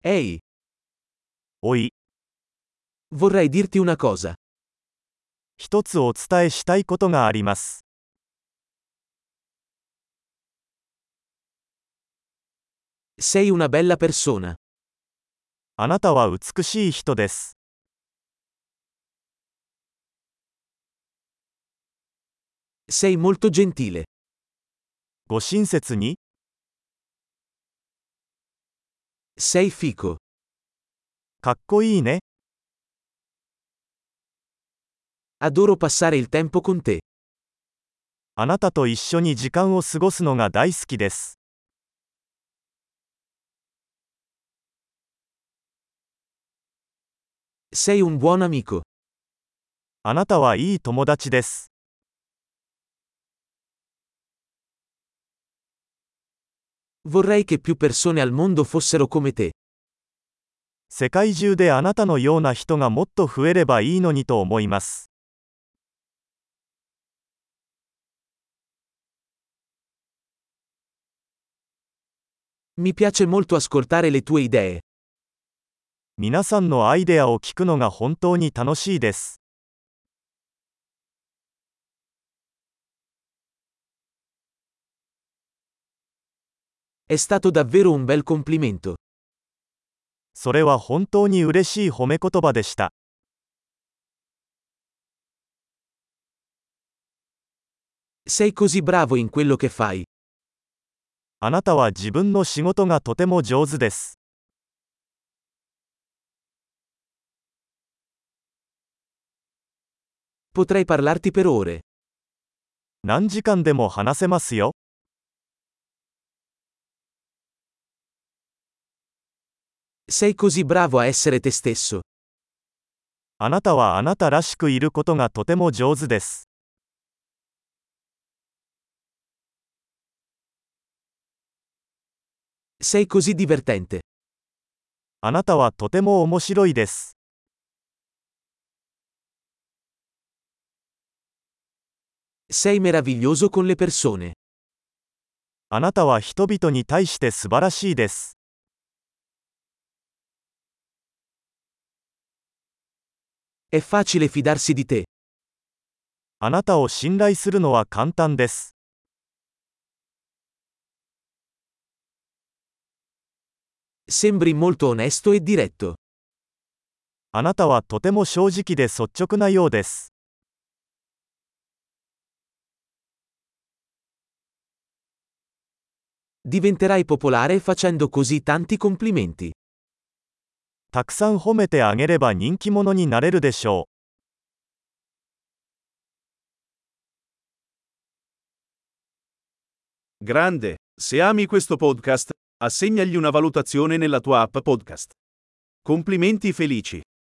Ehi, おい、 vorrei dirti una cosa. 一つお伝えしたいことがあります。 Sei una bella persona. あなたは美しい人です。 Sei molto gentile. ご親切に、 Sei fico. かっこいいね。 Adoro passare il tempo con te. あなたと一緒に時間を過ごすのが大好きです。 Sei un buon amico. あなたはいい友達です。 Vorrei che più persone al mondo fossero come te. 世界中であなたのような人がもっと増えればいいのにと思います。 Mi piace molto ascoltare le tue idee. 皆さんのアイデアを聞くのが本当に楽しいです。 È stato davvero un bel complimento. それは本当に嬉しい褒め言葉でした。 Sei così bravo in quello che fai. あなたは自分の仕事がとても上手です。 Potrei parlarti per ore. 何時間でも話せますよ。 Sei così bravo a essere te stesso. あなたはあなたらしくいることがとても上手です。 Sei così divertente. あなたはとても面白いです。 Sei meraviglioso con le persone. あなたは人々に対して素晴らしいです。 È facile fidarsi di te. あなたを信頼するのは簡単です。 Sembri molto onesto e diretto. あなたはとても正直で率直なようです。 Diventerai popolare facendo così tanti complimenti. たくさん褒めてあげれば人気者になれるでしょ Grande, se ami questo podcast, assegnagli una valutazione nella tua app podcast. Complimenti felici.